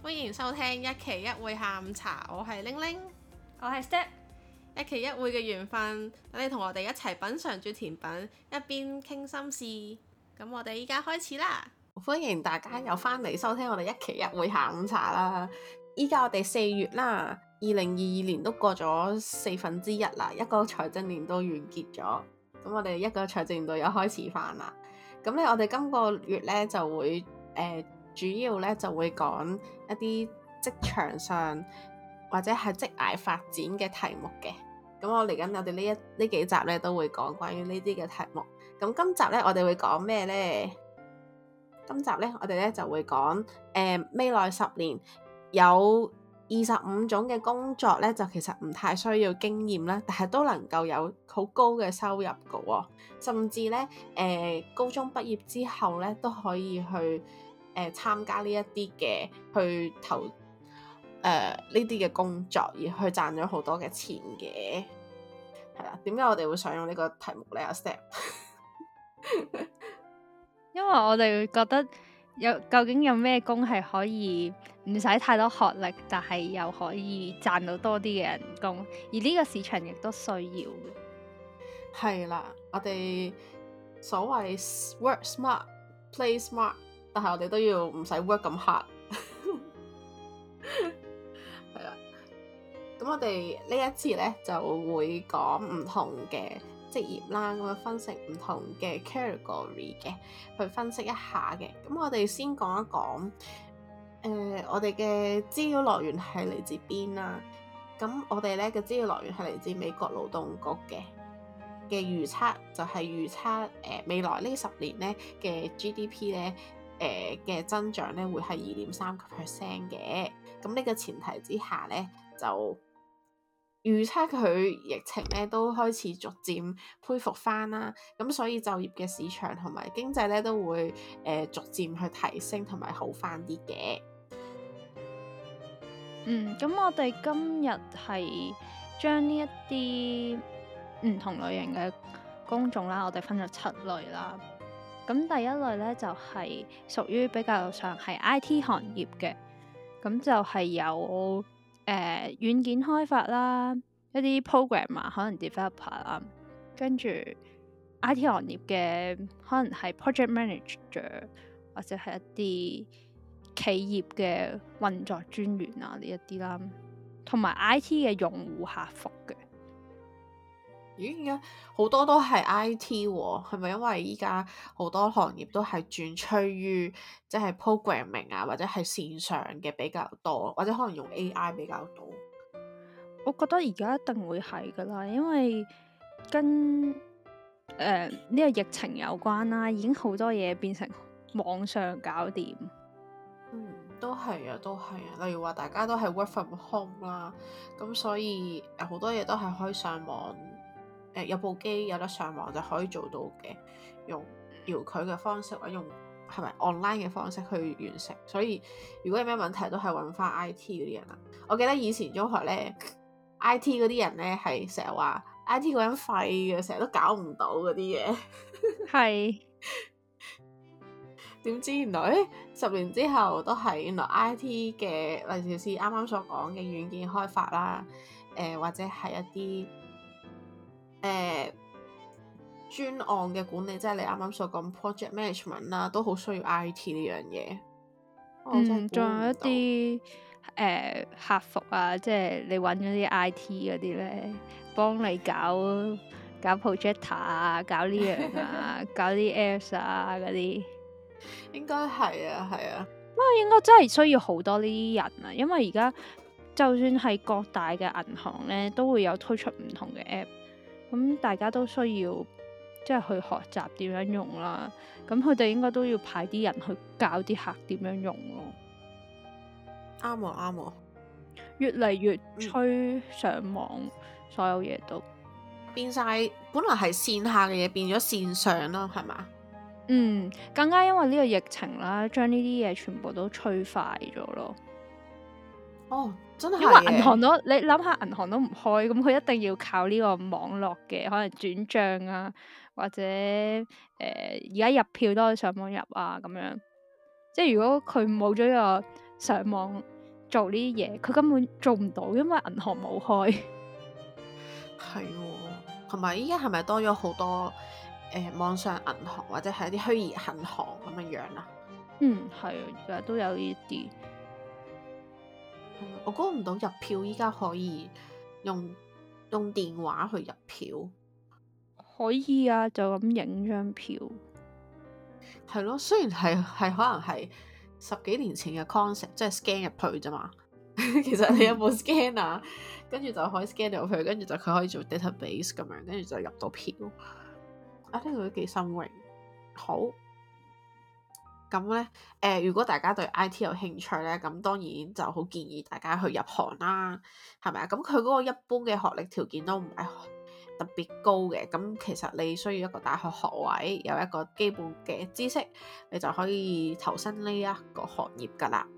歡迎收聽一期一會下午茶，我係玲玲， 我係 Step， 一期一會嘅緣分，等你同我哋一齊品嚐住甜品，一邊傾心事。咁我哋依家開始啦，歡迎大家又翻嚟收聽我哋一期一會下午茶啦。依家我哋4月啦，2022年都過咗1/4啦，一個財政年度完結咗，咁我哋一個財政年度又開始翻啦。咁咧，我哋今個月咧就會主要咧就會講一啲職場上或者係職涯發展嘅題目嘅。咁我嚟緊我哋呢幾集咧都會講關於呢啲嘅題目。咁今集咧我哋會講咩咧？今集咧我哋咧就會講未來10年有25種嘅工作咧，就其實唔太需要經驗啦，但係都能夠有好高嘅收入嘅喎。甚至咧高中畢業之後咧都可以去參加呢一啲嘅去投呢啲嘅工作，而去賺咗好多嘅錢嘅。係啦，點解我哋會想用呢個題目咧？阿 Step， 因為我哋會覺得究竟有咩工係可以唔使太多學歷，但係又可以賺到多啲嘅人工，而呢個市場亦都需要嘅。 係啦，我哋所謂 work smart play smart， 但係我哋都要唔使 work 咁 hard。係啦，咁我哋呢一次咧就會講唔同嘅職業啦，咁樣分析唔同嘅 category 嘅，去分析一下嘅。咁我哋先講一講，我哋嘅資料來源係嚟自邊啦？咁我哋咧嘅資料來源係嚟自美國勞動局嘅預測，就係預測未來呢10年咧嘅 GDP 咧嘅增長咧會係2.3% 嘅。咁呢個前提之下咧，就預測佢疫情咧都開始逐漸恢復翻啦。咁所以就業嘅市場同埋經濟咧都會逐漸去提升同埋好翻啲嘅。 咁我哋今日係將呢一啲唔同類型嘅工種啦，我哋分咗7類啦。咁第一類咧就係屬於比較上係 IT 行業嘅，咁就係有軟件開發啦，一啲 programmer 可能 developer 啦，跟住 IT 行業嘅可能係 project manager 或者係一啲企業嘅運作專員啊呢一啲啦，同埋 IT 嘅用戶客服嘅。 咦，而家好多都係 IT 喎，係咪因為依家好多行業都係轉趨於即係 programming 啊，或者係線上嘅比較多，或者可能用 AI 比較多？ 我覺得而家一定會係噶啦，因為跟呢個疫情有關啦，已經好多嘢變成網上搞掂。 都係啊，都係啊。例如話大家都係 work from home 啦，咁所以好多嘢都係可以上網，有部機有得上網就可以做到嘅，用遙距嘅方式或者用係咪 online 嘅方式去完成。所以如果有咩問題都係揾翻 IT 嗰啲人啦。我記得以前中學咧，IT 嗰啲人咧係成日話 IT 嗰人廢嘅，成日都搞唔到嗰啲嘢。 係。 點知原來10年之後都係原來 IT 嘅，例如是啱啱所講嘅軟件開發啦，或者係一啲專案嘅管理，即係你啱啱所講 project management 啦，都好需要 IT 呢樣嘢。 仲有一啲客服啊，即係你揾嗰啲 IT 嗰啲咧，幫你搞 projector 啊，搞呢樣啊，搞啲 apps 啊嗰啲。 應該係啊，係啊。 不過應該真係需要好多呢啲人啊，因為而家就算係各大嘅銀行咧，都會有推出唔同嘅 app，咁大家都需要即係去學習點樣用啦。咁佢哋應該都要派啲人去教啲客點樣用咯。 啱啊，啱啊。 越嚟越趨上網，所有嘢都變晒，本來係線下嘅嘢變咗線上咯，係嘛？ 更加因為呢個疫情啦，將呢啲嘢全部都催快咗咯。 哦，真係。 因為銀行都，你諗下銀行都唔開，咁佢一定要靠呢個網絡嘅，可能轉賬啊，或者而家入票都可以上網入啊，咁樣。即係如果佢冇咗呢個上網做呢啲嘢，佢根本做唔到，因為銀行冇開。 係喎，同埋依家係咪多咗好多網上銀行或者係一啲虛擬銀行咁樣樣啊？ 係啊，而家都有呢啲。 我估唔到入票依家可以用電話去入票。 可以啊，就咁影張票。 係咯，雖然係可能係10幾年前嘅 concept，即係 scan 入去啫嘛。其實你有冇 scan 啊？跟住就可以 scan 入去，跟住就佢可以做 database 咁樣，跟住就入到票。啊，呢個都幾新穎。好，咁咧如果大家對 IT 有興趣咧，咁當然就好建議大家去入行啦，係咪啊？咁佢嗰個一般嘅學歷條件都唔係特別高嘅，咁其實你需要一個大學學位，有一個基本嘅知識，你就可以投身呢一個行業噶啦。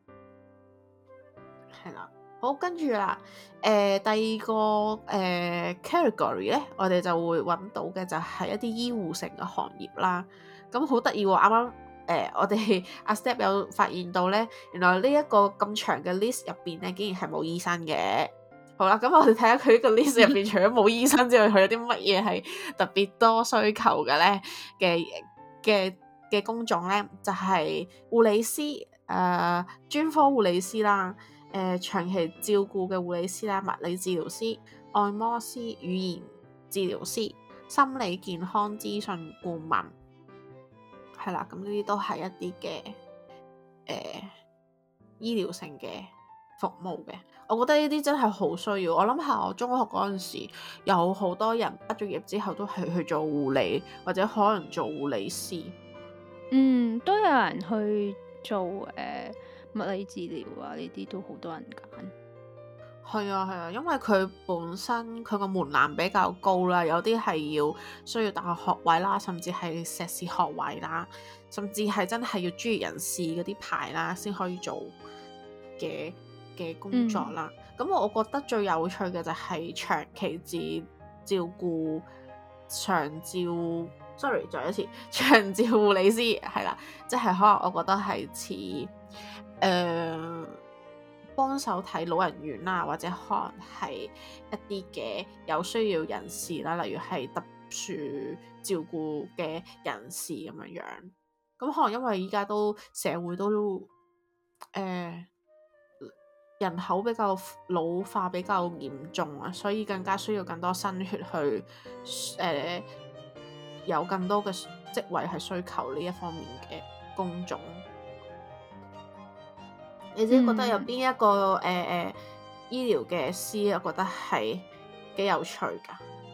係啦，好，跟住啦，第二個category 咧，我哋就會揾到嘅就係一啲醫護性嘅行業啦。咁好得意喎，啱啱我哋阿 Step 有發現到咧，原來呢一個咁長嘅 list 入邊咧，竟然係冇醫生嘅。好啦，咁我哋睇下佢呢個 list 入邊，除咗冇醫生之外，佢有啲乜嘢係特別多需求嘅咧？嘅工種咧，就係護理師，專科護理師啦，長期照顧嘅護理師啦，物理治療師、按摩師、語言治療師、心理健康諮詢顧問，係啦，咁呢啲都係一啲嘅醫療性嘅服務嘅。我覺得呢啲真係好需要。我諗下我中學嗰陣時，有好多人畢咗業之後都係去做護理，或者可能做護理師。 都有人去做物理治療啊，呢啲都好多人揀。 係啊，因為佢本身佢個門檻比較高啦，有啲係需要大學學位啦，甚至係碩士學位啦，甚至係真係要專業人士嗰啲牌啦，先可以做嘅工作啦。咁我覺得最有趣嘅就係長期照顧再一次長照護理師，係啦，即係可能我覺得係似幫手睇老人院啦，或者可能係一啲嘅有需要人士啦，例如係特殊照顧嘅人士咁樣樣。咁可能因為依家都社會都人口比較老化比較嚴重啊，所以更加需要更多新血去有更多嘅職位係需求呢一方面嘅工種。你自己覺得有邊一個醫療嘅師，我覺得係幾有趣㗎？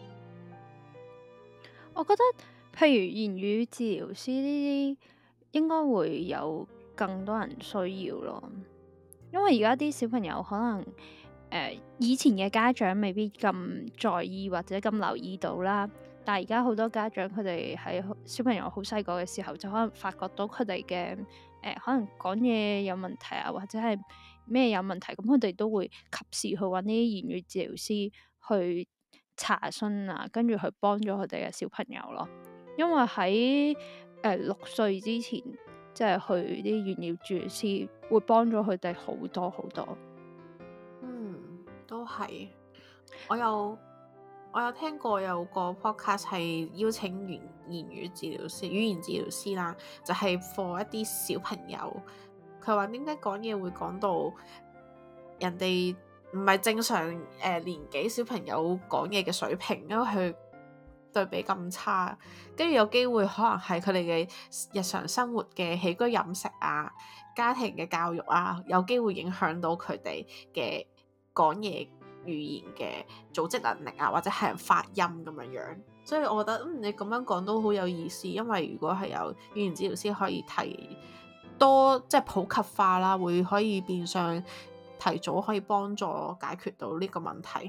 我覺得譬如言語治療師呢啲，應該會有更多人需要咯。因為而家啲小朋友可能以前嘅家長未必咁在意或者咁留意到啦，但係而家好多家長佢哋喺小朋友好細個嘅時候就可能發覺到佢哋嘅可能講嘢有問題啊，或者係咩有問題，咁佢哋都會及時去揾啲言語治療師去查詢啊，跟住去幫咗佢哋嘅小朋友咯。因為喺6歲之前，即係去啲言語治療師會幫咗佢哋好多好多。 都係。我有聽過有個 podcast 係邀請言語治療師、語言治療師啦，就係 for 一啲小朋友。佢話點解講嘢會講到人哋唔係正常年紀小朋友講嘢嘅水平，因為佢對比咁差，跟住有機會可能係佢哋嘅日常生活嘅起居飲食啊、家庭嘅教育啊，有機會影響到佢哋嘅講嘢語言嘅組織能力啊，或者係發音咁樣樣。所以我覺得你咁樣講都好有意思，因為如果係有語言治療師可以提多即係普及化啦，會可以變相提早可以幫助解決到呢個問題。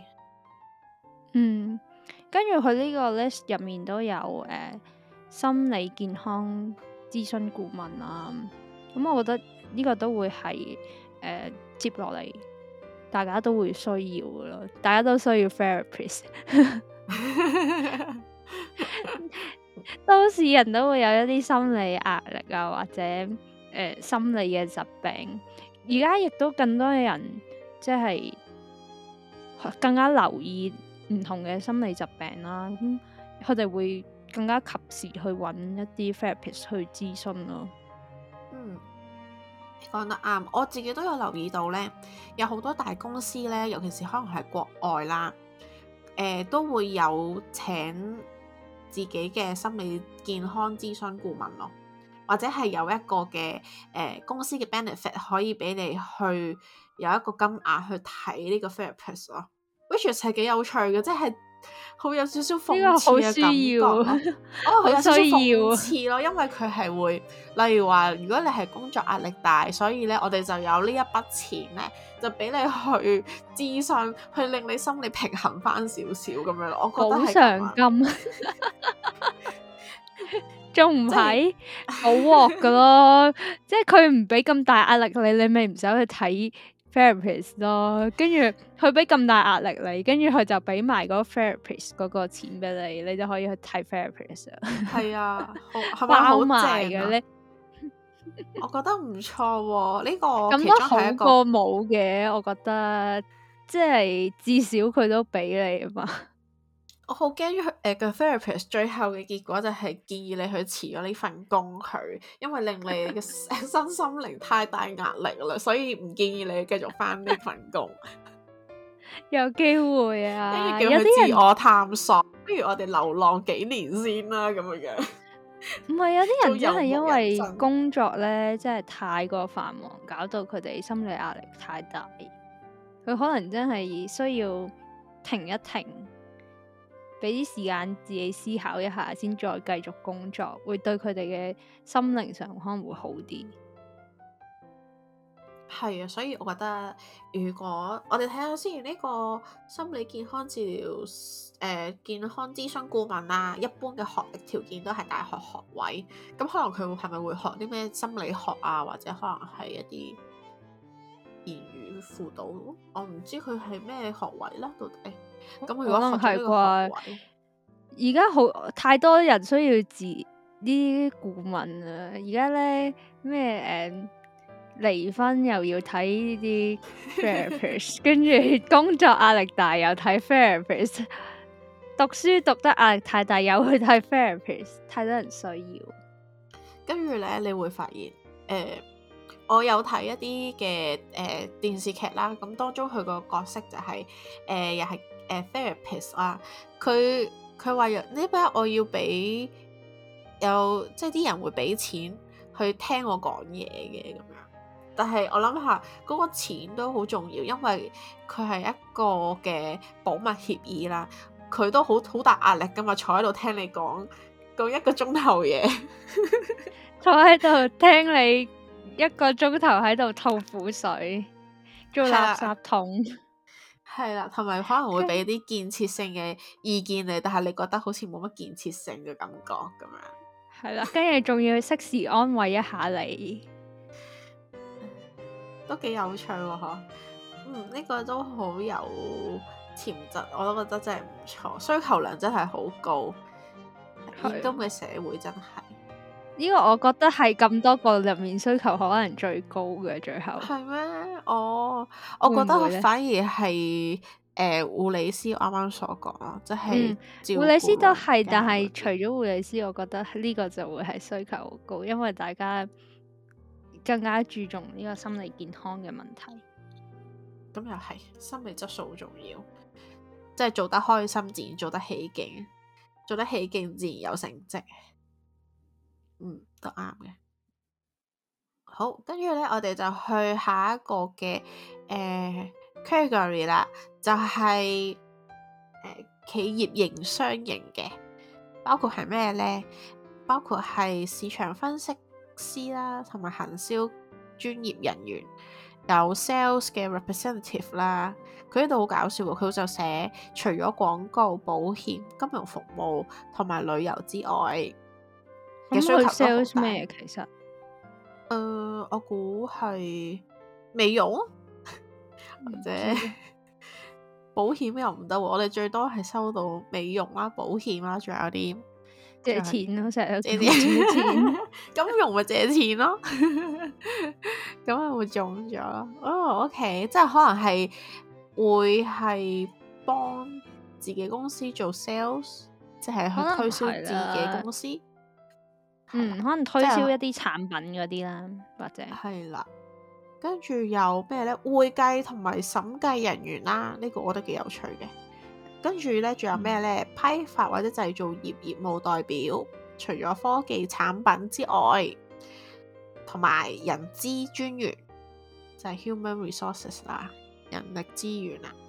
跟住佢呢個 list 入面都有心理健康諮詢顧問啊，咁我覺得呢個都會係接落嚟大家都會需要嘅咯，大家都需要 therapist。都市人都會有一啲心理壓力啊，或者心理嘅疾病， 而家亦都更多嘅人即係更加留意唔同嘅心理疾病啦，咁佢哋會更加及時去揾一啲 therapist 去諮詢咯。 你講得啱，我自己都有留意到呢，有好多大公司呢，尤其是可能係國外啦，都會有請自己嘅心理健康諮詢顧問咯，或者係有一個嘅公司嘅 benefit 可以俾你去有一個金額去睇呢個 therapist 咯，which 係幾有趣嘅，即係好有少少諷刺嘅感覺咯。佢有少少諷刺咯，因為佢係會，例如話，如果你係工作壓力大，所以咧我哋就有呢一筆錢咧，就俾你去諮詢，去令你心理平衡翻少少咁樣咯。我覺得係補償金，仲唔係好鑊噶咯？即係佢唔俾咁大壓力你咪唔使去睇 therapist 咯，跟住佢俾咁大壓力你，跟住佢就俾埋嗰個 therapist 嗰個錢俾你，你就可以去睇 therapist 啊。 係啊，係咪好正嘅咧？ 我覺得唔錯喎，呢個咁都好過冇嘅，我覺得即係至少佢都俾你啊嘛。 我好驚佢個 therapist 最後嘅結果就係建議你去辭咗呢份工佢，因為令你嘅身心靈太大壓力啦，所以唔建議你繼續返呢份工。 有機會啊， 跟住叫佢自我探索，不如我哋流浪幾年先啦，咁樣。 唔係，有啲人真係因為工作咧，真係太過繁忙，搞到佢哋心理壓力太大，佢可能真係需要停一停。俾啲時間自己思考一下，先再繼續工作，會對佢哋嘅心靈上可能會好啲。 係啊，所以我覺得，如果我哋睇下先，呢個心理健康治療健康諮詢顧問啦，一般嘅學歷條件都係大學學位，咁可能佢係咪會學啲咩心理學啊，或者可能係一啲言語輔導？我唔知佢係咩學位啦，到底。咁如果學咗呢個學位， 而家好太多人需要啲顧問啊！而家咧咩離婚又要睇呢啲 therapist， 跟住工作壓力大又睇 therapist， 讀書讀得壓力太大又去睇 therapist， 太多人需要。跟住咧，你會發現我有睇一啲嘅電視劇啦，咁當中佢個角色就係又係therapist 啦，佢話呢邊我要俾有即係啲人會俾錢去聽我講嘢嘅咁樣，但係我諗下嗰個錢都好重要，因為佢係一個嘅保密協議啦，佢都好大壓力噶嘛，坐喺度聽你講1個鐘頭嘢， 坐喺度聽你1個鐘頭喺度吐苦水，做垃圾桶。 係啦，同埋可能會俾啲建設性嘅意見你，但係你覺得好似冇乜建設性嘅感覺咁樣。 係啦，跟住仲要適時安慰一下你， 都幾有趣喎，嗬。呢個都好有潛質，我都覺得真係唔錯，需求量真係好高，現今嘅社會真係。 呢個我覺得係咁多個入面需求可能最高嘅，最後係咩？我覺得反而係護理師我啱啱所講咯，即係護理師都係，但係除咗護理師，我覺得呢個就會係需求好高，因為大家更加注重呢個心理健康嘅問題。 咁又係，心理質素好重要，即係做得開心自然做得起勁，做得起勁自然有成績。都啱嘅。好，跟住咧，我哋就去下一個嘅category 啦，就係企業營商型嘅，包括係咩咧？包括係市場分析師啦，同埋行銷專業人員，有 sales 嘅 representative 啦。佢呢度好搞笑喎，佢就寫除咗廣告、保險、金融服務同埋旅遊之外。嘅需求都好大。 sales 咩？其實， 我估係美容或者保險又唔得喎。我哋最多係收到美容啦、保險啦，仲有啲借錢咯，成日都借錢。金融咪借錢咯。 咁係會中咗哦。OK， 即係可能係會係幫自己公司做 sales， 即係去推銷自己公司。 可能推銷一啲產品嗰啲啦，或者係啦。跟住有咩呢？會計同埋審計人員啦，呢個我覺得幾有趣嘅。跟住呢，仲有咩呢？批發或者製造業業務代表，除咗科技產品之外，同埋人資專員就係 human resources 啦，人力資源啊。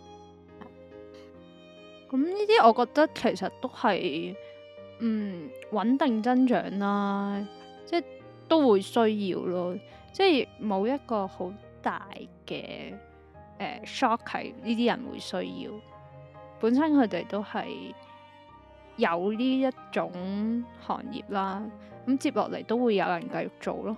咁呢啲我覺得其實都係穩定增長啦，即係都會需要咯，即係冇一個好大嘅shock 係呢啲人會需要，本身佢哋都係有呢一種行業啦，咁接落嚟都會有人繼續做咯。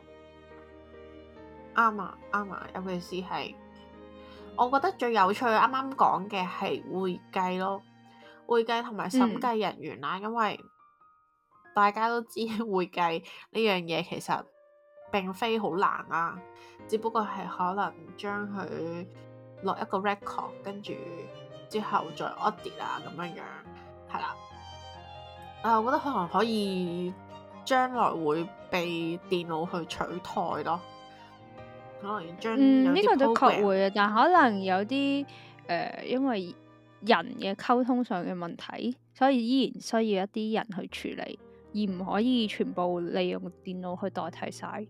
啱啊，啱啊，尤其是係我覺得最有趣啱啱講嘅係會計咯，會計同埋審計人員啦，因為大家都知會計呢樣嘢其實並非好難啦，只不過係可能將佢落一個 record， 跟住之後再 audit 啊咁樣樣，係啦。我覺得可能可以將來會被電腦去取代咯。可能要將呢個都確會啊，但可能有啲因為人嘅溝通上嘅問題，所以依然需要一啲人去處理，而唔可以全部利用電腦去代替晒。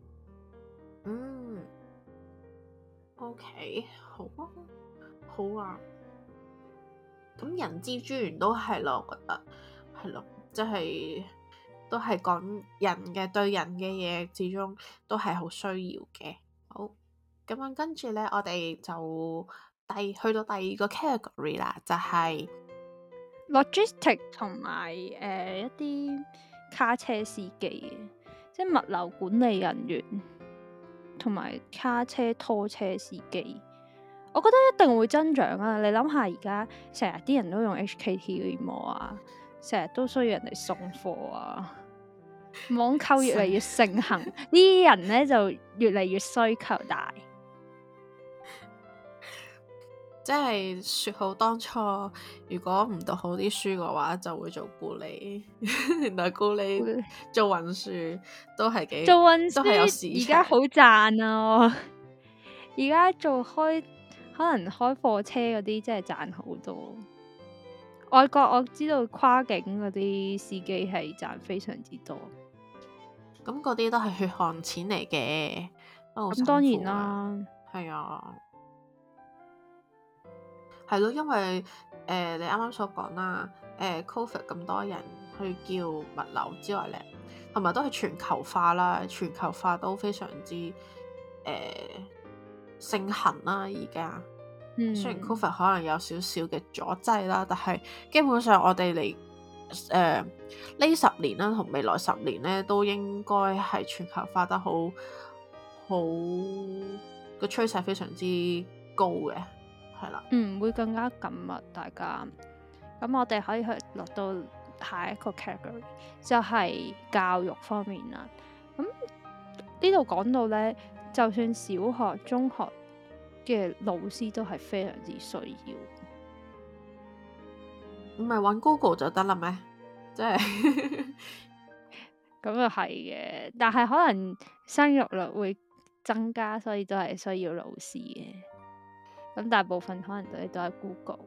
OK， 好啊，好啊。咁人資專員都係咯，我覺得係咯，即係都係講人嘅，對人嘅嘢，始終都係好需要嘅。好，咁樣跟住呢，我哋就去到第二個 category 啦，就係 logistic 同埋一啲卡車司機，即係物流管理人員同埋卡車拖車司機，我覺得一定會增長啊！你諗下而家成日啲人都用 HKTVmall 啊，成日都需要人哋送貨啊，網購越嚟越盛行，呢啲人呢就越嚟越需求大。 即係說好當初，如果唔讀好啲書嘅話，就會做咕喱。原來咕喱做運輸都係幾做運輸， 都係有市場。 而家好賺啊！而家做可能開貨車嗰啲，真係賺好多。外國我知道跨境嗰啲司機係賺非常之多。 咁嗰啲都係血汗錢嚟嘅， 咁當然啦， 係啊。係咯，因為你啱啱所講啦，Covid 咁多人去叫物流之外咧，同埋都係全球化啦，全球化都非常之盛行啦。而家雖然 Covid 可能有少少嘅阻滯啦，但係基本上我哋嚟呢10年啦，同未來10年咧，都應該係全球化得好個趨勢非常之高嘅。係啦， 會更加緊密大家。咁我哋可以去落到下一個 category，就係教育方面啦。咁呢度講到呢，就算小學、中學嘅老師都係非常之需要。 唔係揾 Google 就得啦咩？即係咁又係嘅，但係可能生育率會增加，所以都係需要老師嘅。咁大部分可能都係 Google。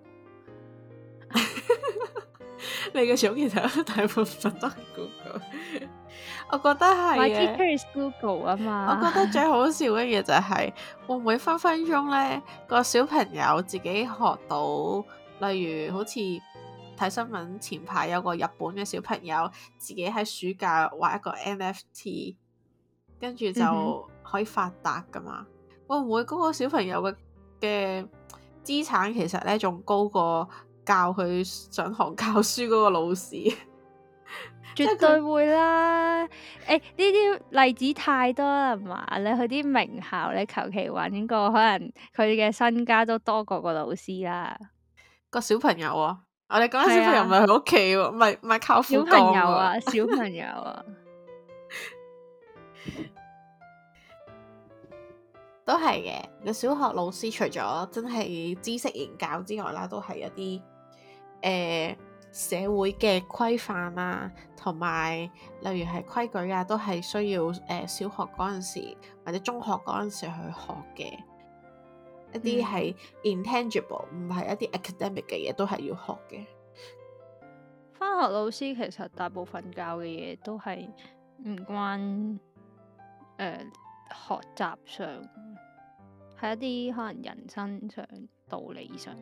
你嘅總結就大部分都係 Google。我覺得係 My teacher is Google 啊嘛。 我覺得最好笑嘅嘢就係會唔會分分鐘呢個小朋友自己學到，例如好似睇新聞前排有個日本嘅小朋友自己喺暑假畫一個 NFT， 跟住就可以發達噶嘛？會唔會嗰個小朋友嘅資產其實呢仲高過教佢上堂教書嗰個老師？ 絕對會啦！呢啲例子太多啦嘛，你去啲名校，你求其揾個，可能佢嘅身家都多過個老師啦。 個小朋友啊，我哋講緊小朋友唔係喺屋企喎，唔係靠父幹喎。 小朋友啊，小朋友啊。 都係嘅。個小學老師除咗真係知識研教之外啦，都係一啲社會嘅規範啊，同埋例如係規矩啊，都係需要小學嗰陣時或者中學嗰陣時去學嘅一啲係 intangible，唔係一啲 academic 嘅嘢，都係要學嘅。 返學老師其實大部分教嘅嘢都係唔關學習上，係一啲可能人生上、道理上。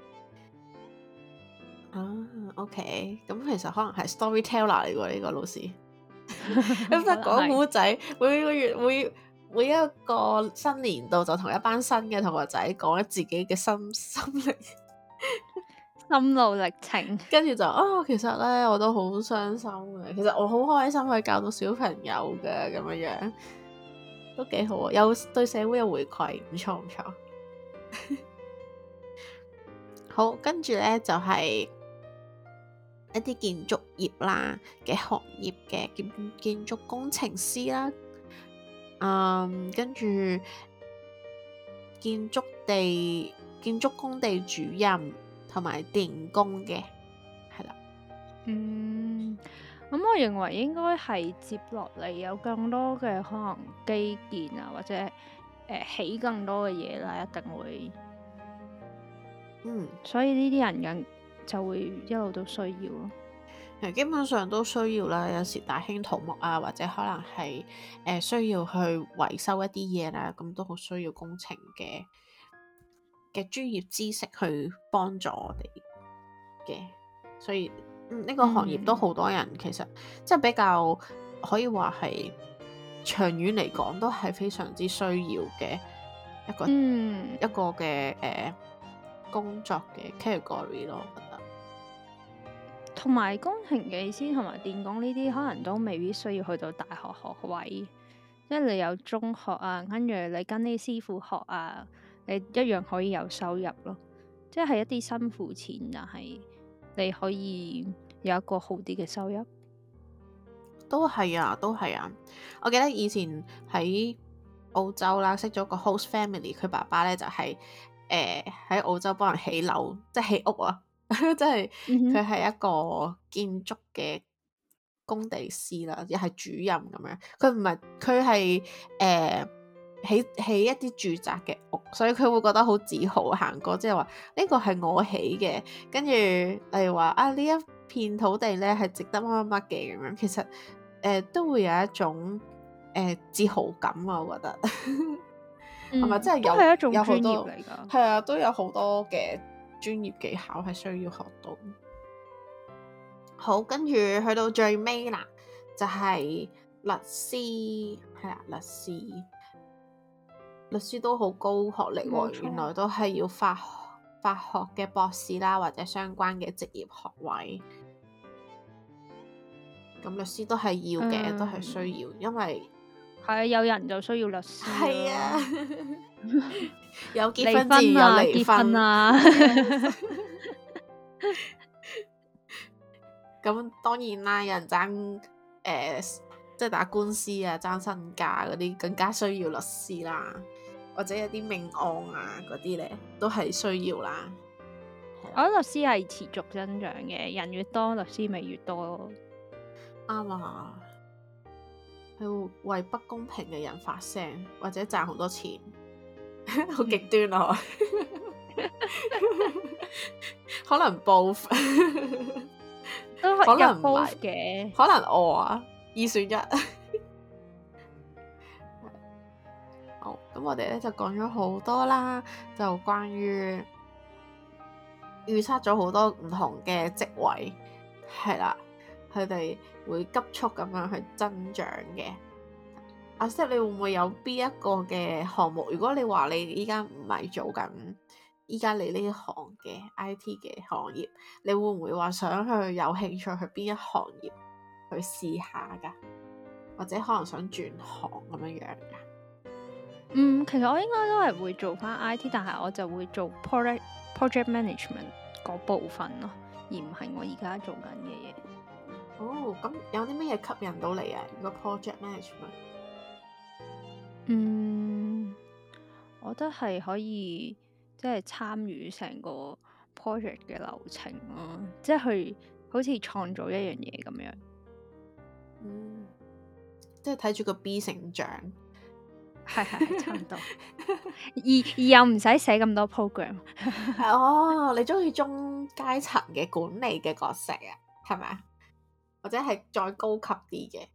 OK，咁其實可能係 storyteller 嚟喎呢個老師，咁得講古仔，每個月每一個新年度就同一班新嘅同學仔講自己嘅心靈心路歷程， 跟住就其實咧我都好傷心嘅，其實我好開心可以教到小朋友嘅咁樣，都幾好啊，有對社會有回饋，唔錯唔錯。好，跟住咧就係一啲建築業啦嘅行業嘅建築工程師啦，跟住建築工地主任同埋電工嘅，係啦。 咁我認為應該係接落嚟有更多嘅可能基建啊，或者起更多嘅嘢啦，一定會。所以呢啲人就會一路都需要咯。 基本上都需要啦，有時大興土木啊，或者可能係需要去維修一啲嘢啦，咁都好需要工程嘅專業知識去幫助我哋嘅，所以呢個行業都好多人其實即係比較可以話係長遠嚟講都係非常之需要嘅一個嘅工作嘅 category 咯，我覺得。 同埋工程技師同埋電工呢啲可能都未必需要去到大學學位，即係你有中學啊，跟住你跟啲師傅學啊，你一樣可以有收入咯。即係一啲辛苦錢，但係你可以有一個好啲嘅收入。 都係啊，都係啊！我記得以前喺澳洲啦，識咗個 host family，佢爸爸咧就係喺澳洲幫人起樓，即係起屋啊！即係佢係一個建築嘅工地師啦，又係主任咁樣。佢係起一啲住宅嘅屋，所以佢會覺得好自豪行過，即係話呢個係我起嘅。跟住例如話呢一片土地咧係值得乜乜乜嘅咁樣，其實都會有一種自豪感啊，我覺得係咪真係都係一種專業嚟㗎？ 係啊，都有好多嘅專業技巧係需要學到。好，跟住去到最尾啦，就係律師，係啦，律師都好高學歷喎，原來都係要法學嘅博士啦，或者相關嘅職業學位。咁律師都係要嘅，都係需要，因為係啊，有人就需要律師。 係啊，有結婚自然有離婚啊。咁當然啦，有人爭即係打官司啊，爭身家嗰啲更加需要律師啦，或者有啲命案啊嗰啲咧都係需要啦。 我覺得律師係持續增長嘅，人越多，律師咪越多咯。 啱啊，係為不公平嘅人發聲，或者賺好多錢，好極端啊！可能 both 都可能 both 嘅， 可能我二選一。好，咁我哋咧就講咗好多啦，就關於預測咗好多唔同嘅職位，係啦，佢哋會急速咁樣去增長嘅。阿 Step，你會唔會有邊一個嘅項目？如果你話你依家唔係做緊依家你呢行嘅 IT 嘅行業，你會唔會話想去有興趣去邊一行業去試下㗎？或者可能想轉行咁樣㗎？ 其實我應該都係會做翻 IT，但係我就會做 project management 嗰部分咯，而唔係我而家做緊嘅嘢。 哦，咁有啲咩嘢吸引到你啊？如果 project management， 我覺得係可以即係參與成個 project 嘅流程咯，即係去好似創造一樣嘢咁樣。 即係睇住個 B 成長。 係差唔多。而又唔使寫咁多 program。 哦，你中意中階層嘅管理嘅角色啊？係咪啊？或者係再高級啲嘅？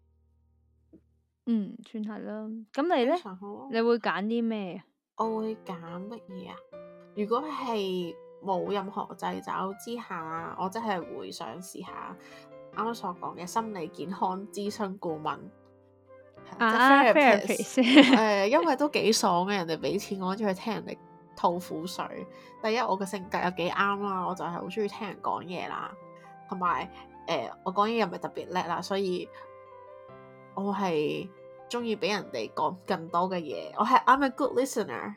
算係啦。咁你呢？你會揀啲咩啊？ 我會揀乜嘢啊？如果係冇任何掣肘之下，我真係會想試下啱啱所講嘅心理健康諮詢顧問。 therapist 因為都幾爽嘅，人哋俾錢我，中意聽人哋吐苦水。第一，我嘅性格又幾啱啦，我就係好中意聽人講嘢啦，同埋我講嘢又唔係特別叻啦，所以我係中意俾人哋講更多嘅嘢。I'm a good listener。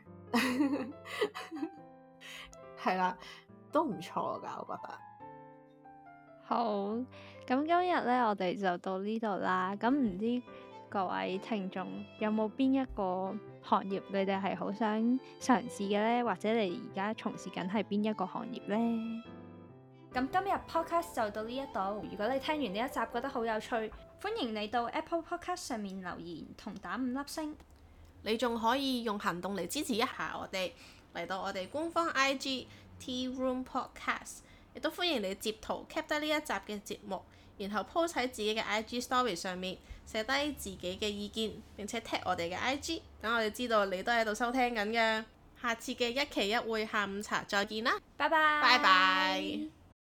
係啦，都唔錯噶，我覺得。 好，咁今日呢，我哋就到呢度啦。咁唔知各位聽眾有冇邊一個行業你哋係好想嘗試嘅呢？或者你而家從事緊係邊一個行業呢？咁今日 podcast 就到呢一度。如果你聽完呢一集覺得好有趣，歡迎你到 Apple Podcast 上面留言同打5粒星。 你仲可以用行動嚟支持一下我哋，嚟到我哋官方 IG Tea Room Podcast， 亦都歡迎你截圖 cap 低呢一集嘅節目，然後 post 喺自己嘅 IG Story 上面，寫低自己嘅意見，並且 tag 我哋嘅 IG， 等我哋知道你都喺度收聽緊嘅。下次嘅一期一會下午茶再見啦， 拜拜。 拜拜。